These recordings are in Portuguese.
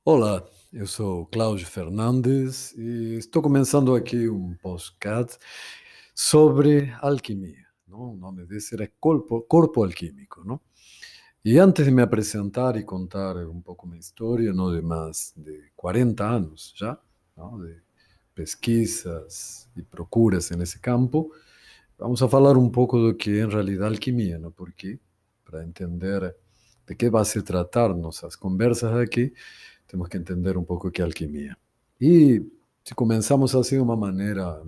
Olá, eu sou Cláudio Fernandes e estou começando aqui um podcast sobre alquimia, não? O nome desse é Corpo Alquímico, não? E antes de me apresentar e contar um pouco minha história, não, de mais de 40 anos já, não, de pesquisas e procuras nesse campo, vamos a falar um pouco do que é em realidade alquimia, não? Porque para entender de que vai se tratar nossas conversas aqui, temos que entender um pouco o que é alquimia. E se começamos assim de uma maneira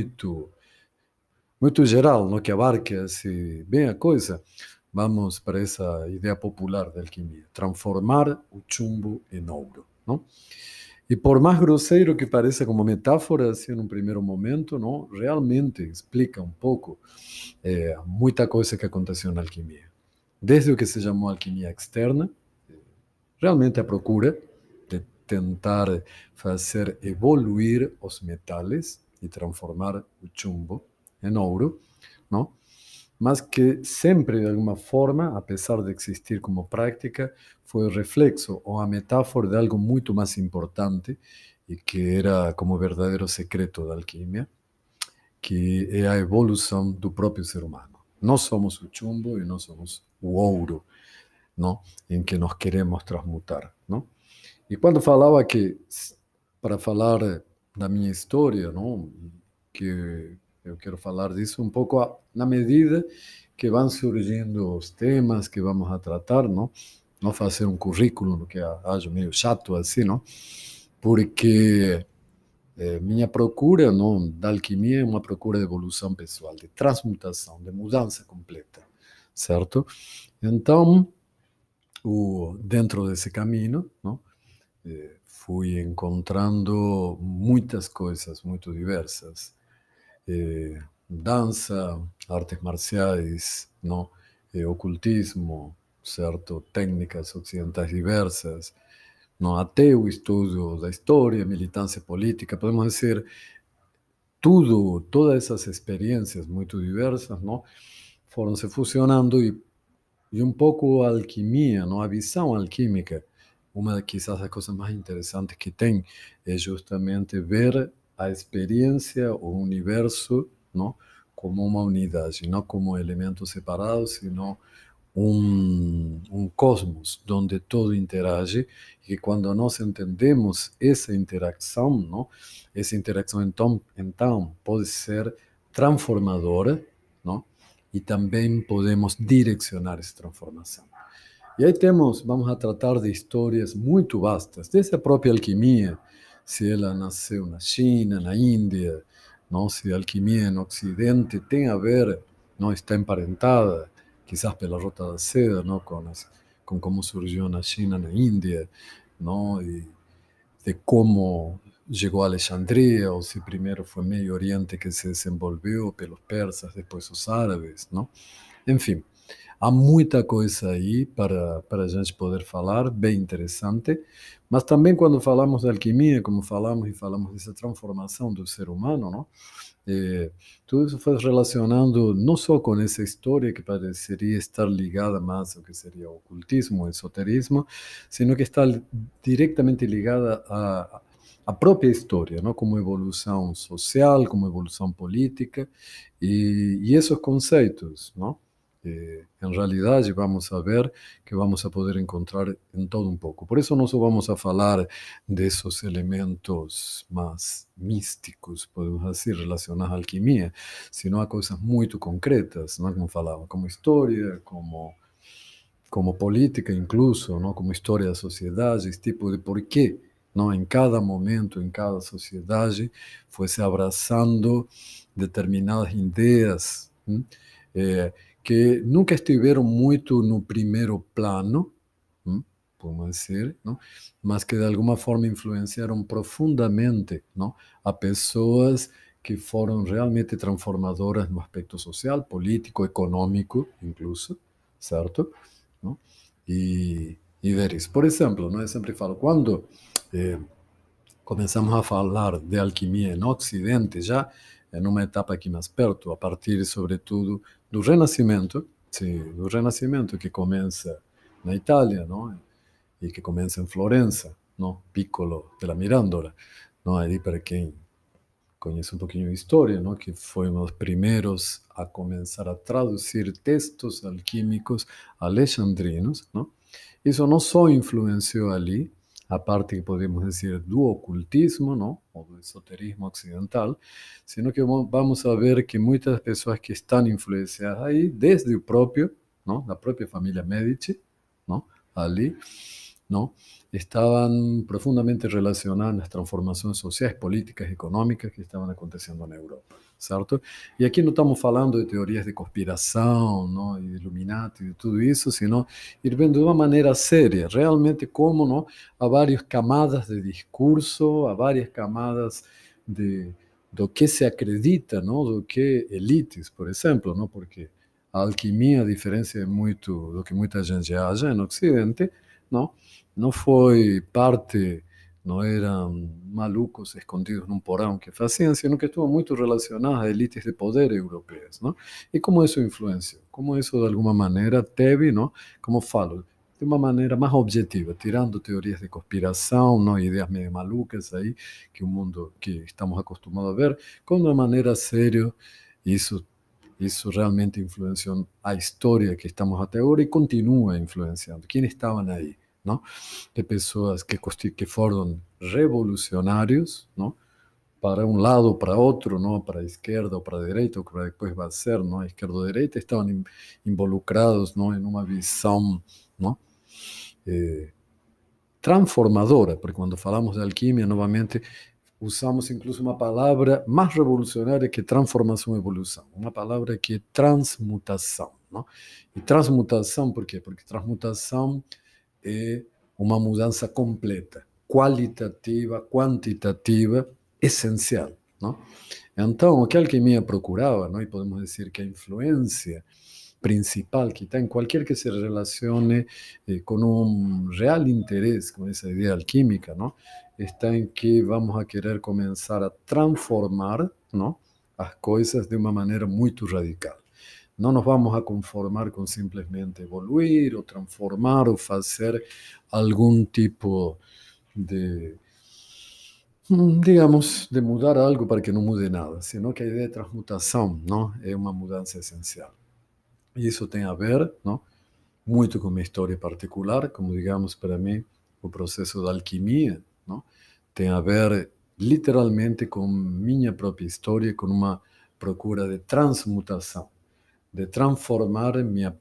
muito geral, no que abarque assim, bem a coisa, vamos para essa ideia popular da alquimia, transformar o chumbo em ouro, não? E por mais grosseiro que pareça como metáfora, assim, num primeiro momento, não, realmente explica um pouco muita coisa que aconteceu na alquimia. Desde o que se chamou alquimia externa, realmente a procura de tentar fazer evoluir os metais e transformar o chumbo em ouro, não? Mas que sempre, de alguma forma, apesar de existir como prática, foi o reflexo ou a metáfora de algo muito mais importante e que era como verdadeiro secreto da alquimia, que é a evolução do próprio ser humano. Nós somos o chumbo e nós somos o ouro, não? Em que nós queremos transmutar, não? E quando falava que, para falar da minha história, não, que eu quero falar disso um pouco na medida que vão surgindo os temas que vamos a tratar, não fazer um currículo, que acho meio chato assim, não? Porque minha procura, não, da alquimia é uma procura de evolução pessoal, de transmutação, de mudança completa, certo? Então, dentro desse caminho, não? Fui encontrando muitas coisas muito diversas. Dança, artes marciais, não? Ocultismo, certo? Técnicas ocidentais diversas, não? Até o estudo da história, militância política, podemos dizer, tudo, todas essas experiências muito diversas, não? Foram se fusionando e um pouco a alquimia, não? A visão alquímica, uma quizás das coisas mais interessantes que tem é justamente ver a experiência, o universo, não? Como uma unidade, não como elementos separados, sino um cosmos onde todo interage e que quando nós entendemos essa interação, não? Essa interação então pode ser transformadora, não? E também podemos direcionar essa transformação. E aí temos, vamos a tratar de histórias muito vastas, desde a própria alquimia, se ela nasceu na China, na Índia, não, se a alquimia no Ocidente tem a ver, não está emparentada, quizás pela Rota da Seda, não, com como surgiu na China, na Índia, não, e de como chegou a Alexandria, ou se primeiro foi Meio Oriente que se desenvolveu pelos persas, depois os árabes, não? Enfim, há muita coisa aí para a gente poder falar, bem interessante, mas também quando falamos de alquimia, como falamos e falamos dessa transformação do ser humano, não? Eh, Tudo isso foi relacionando não só com essa história que pareceria estar ligada mais ao que seria o ocultismo, o esoterismo, sino que está diretamente ligada à própria história, não? Como evolução social, como evolução política, e esses conceitos, não? Em realidade, vamos a ver que vamos a poder encontrar em todo um pouco. Por isso, nós só vamos a falar desses elementos mais místicos, podemos dizer, relacionados à alquimia, sino a coisas muito concretas, não é? Como falava, como história, como política incluso, não? Como história da sociedade, esse tipo de porquê, não? Em cada momento, em cada sociedade, foi se abraçando determinadas ideias, eh, que nunca estiveram muito no primeiro plano, podemos dizer, não? Mas que de alguma forma influenciaram profundamente, não? A pessoas que foram realmente transformadoras no aspecto social, político, econômico, incluso, certo? Não? E ver isso. Por exemplo, não? Eu sempre falo, quando eh, começamos a falar de alquimia no Ocidente, já em uma etapa aqui mais perto, a partir, sobretudo, do Renascimento, sim, do Renascimento que começa na Itália, não? E que começa em Florença. ¿no? Piccolo de la Mirandola, ¿no? Ahí para quien conhece um pouquinho de história, ¿no? Que foi um dos primeiros a começar a traduzir textos alquímicos alexandrinos, ¿no? Isso não só influenciou ali a parte que podemos dizer do ocultismo, ¿no? Ou do esoterismo ocidental, sino que vamos a ver que muitas pessoas que estão influenciadas aí, desde o próprio, ¿no? Da própria família Medici, ¿no? Ali, ¿no? Estaban profundamente relacionadas nas transformações sociais, políticas, econômicas que estavam acontecendo na Europa, certo? E aqui não estamos falando de teorias de conspiração, não, e de Illuminati, de tudo isso, senão ir vendo de uma maneira séria, realmente como, não, há várias camadas de discurso, há várias camadas do que se acredita, não, do que elites, por exemplo, não, porque a alquimia, a diferença é muito do que muita gente acha no Ocidente, não, não foi parte, não eram malucos escondidos num porão que faziam, sino que estuvo muito relacionado a elites de poder europeias, não? E como isso influenciou? Como isso, de alguma maneira, teve, não? Como falo, de uma maneira mais objetiva, tirando teorias de conspiração, não, ideias meio malucas aí, que o mundo que estamos acostumados a ver, como de uma maneira séria, isso isso realmente influenciou a história que estamos até agora e continua influenciando. Quem estavam aí? Não? De pessoas que foram revolucionários, não? Para um lado ou para outro, não? Para a esquerda ou para a direita, ou para depois vai ser, não? A esquerda ou a direita estavam involucrados, não? Em uma visão, não? Eh, transformadora, porque quando falamos de alquimia, novamente, usamos incluso uma palavra mais revolucionária que transformação e evolução, uma palavra que é transmutação, não? E transmutação, por quê? Porque transmutação é uma mudança completa, qualitativa, quantitativa, essencial, não? Então, o que a alquimia procurava, não? E podemos dizer que a influência principal que está em qualquer que se relacione com um real interesse com essa ideia alquímica, não? Está em que vamos a querer começar a transformar, não? As coisas de uma maneira muito radical. Não nos vamos a conformar com simplesmente evoluir ou transformar ou fazer algum tipo de, digamos, de mudar algo para que não mude nada, senão que a ideia de transmutação, não, é uma mudança essencial. E isso tem a ver, não, muito com minha história particular, como digamos para mim, o processo da alquimia, não, tem a ver literalmente com minha própria história, com uma procura de transmutação, de transformar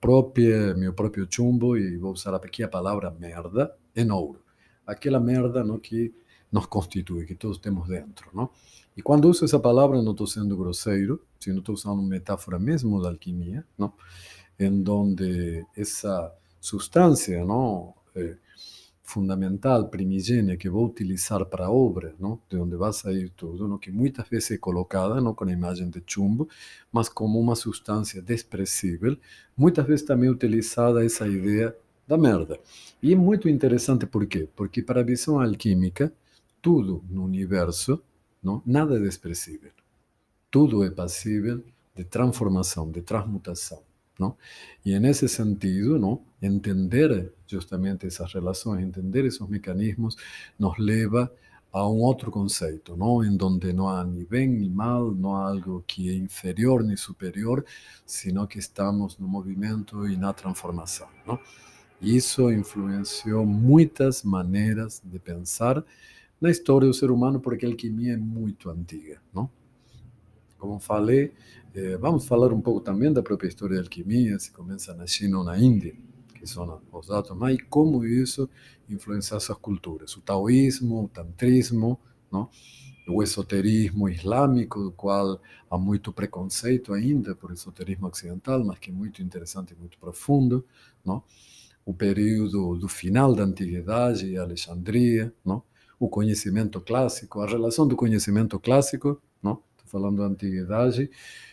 meu próprio chumbo, e vou usar aqui a palavra merda, em ouro. Aquela merda, não, que nos constitui, que todos temos dentro, não? E quando uso essa palavra, não estou sendo grosseiro, sino estou usando uma metáfora mesmo da alquimia, não? Em donde essa substância, não, fundamental, primigênia, que vou utilizar para a obra, não? De onde vai sair tudo, não? Que muitas vezes é colocada, não, com a imagem de chumbo, mas como uma substância desprezível, muitas vezes também utilizada essa ideia da merda. E é muito interessante por quê? Porque para a visão alquímica, tudo no universo, não, nada é desprezível. Tudo é passível de transformação, de transmutação, não? E nesse sentido, não, entender justamente essas relações, entender esses mecanismos, nos leva a um outro conceito, não, em donde não há nem bem nem mal, não há algo que é inferior nem superior, sino que estamos no movimento e na transformação, não? E isso influenciou muitas maneiras de pensar na história do ser humano, porque a alquimia é muito antiga, não? Como falei, vamos falar um pouco também da própria história da alquimia, se começa na China ou na Índia, que são os dados mais, e como isso influencia essas culturas. O taoísmo, o tantrismo, não? O esoterismo islâmico, do qual há muito preconceito ainda por esoterismo ocidental, mas que é muito interessante e muito profundo, não? O período do final da antiguidade e Alexandria, não? O conhecimento clássico, a relação do conhecimento clássico, não? Falando da antiguidade,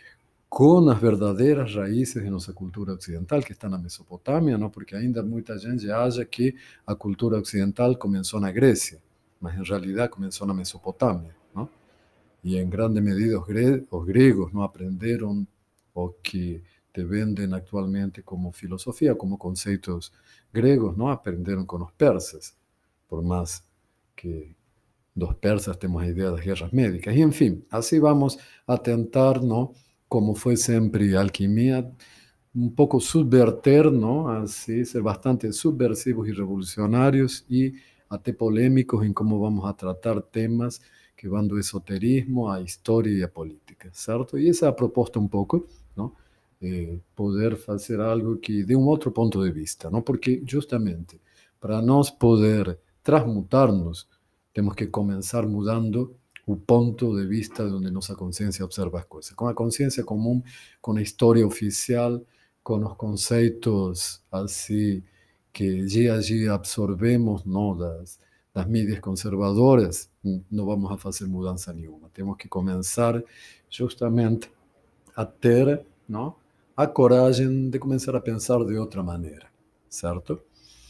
com as verdadeiras raízes de nossa cultura ocidental, que está na Mesopotâmia, não? Porque ainda muita gente acha que a cultura ocidental começou na Grécia, mas em realidade começou na Mesopotâmia, não? E em grande medida os gregos não aprenderam o que te vendem atualmente como filosofia, como conceitos gregos, não aprenderam com os persas, por mais que dos persas temos a ideia das guerras médicas. E, enfim, assim vamos a tentar, não, como foi sempre a alquimia, um pouco subverter, não, assim, ser bastante subversivos e revolucionários e até polêmicos em como vamos a tratar temas que vão do esoterismo à história e à política, certo? E essa é a proposta um pouco, não? Poder fazer algo que de um outro ponto de vista, não? Porque justamente para nós poder transmutar-nos, temos que começar mudando o ponto de vista de onde nossa consciência observa as coisas. Com a consciência comum, com a história oficial, com os conceitos assim que dia a dia absorvemos, não, das mídias conservadoras, não vamos a fazer mudança nenhuma. Temos que começar justamente a ter, não, a coragem de começar a pensar de outra maneira, certo?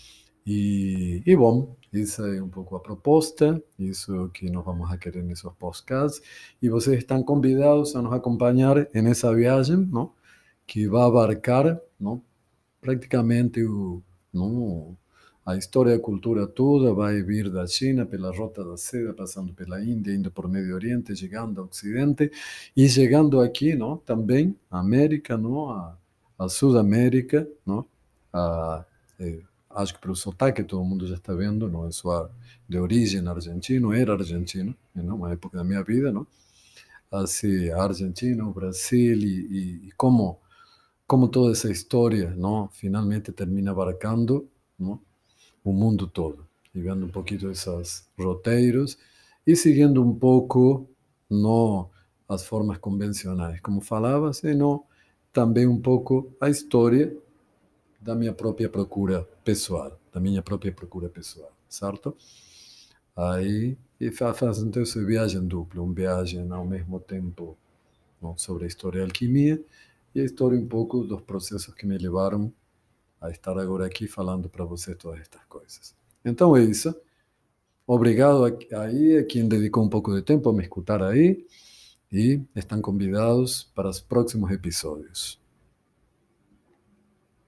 E bom, isso é um pouco a proposta, isso que nós vamos a querer nesses podcasts. E vocês estão convidados a nos acompanhar nessa viagem, não? Que vai abarcar, não? Praticamente não, a história e a cultura toda vai vir da China pela Rota da Seda, passando pela Índia, indo por Médio Oriente, chegando ao Ocidente e chegando aqui, não, também à América, não, a Sudamérica, não, a, acho que pelo sotaque todo mundo já está vendo, não é só de origem argentino, era argentino, em uma época da minha vida, não, assim, a Argentina, o Brasil e como toda essa história, não, finalmente termina abarcando, não, o mundo todo, e vendo um pouquinho esses roteiros e seguindo um pouco não as formas convencionais, como falava, senão também um pouco a história da minha própria procura pessoal, certo? Aí e faz então essa viagem dupla, uma viagem ao mesmo tempo, não, sobre a história da alquimia e a história um pouco dos processos que me levaram a estar agora aqui falando para você todas estas coisas. Então é isso. Obrigado aí a quem dedicou um pouco de tempo a me escutar aí e estão convidados para os próximos episódios.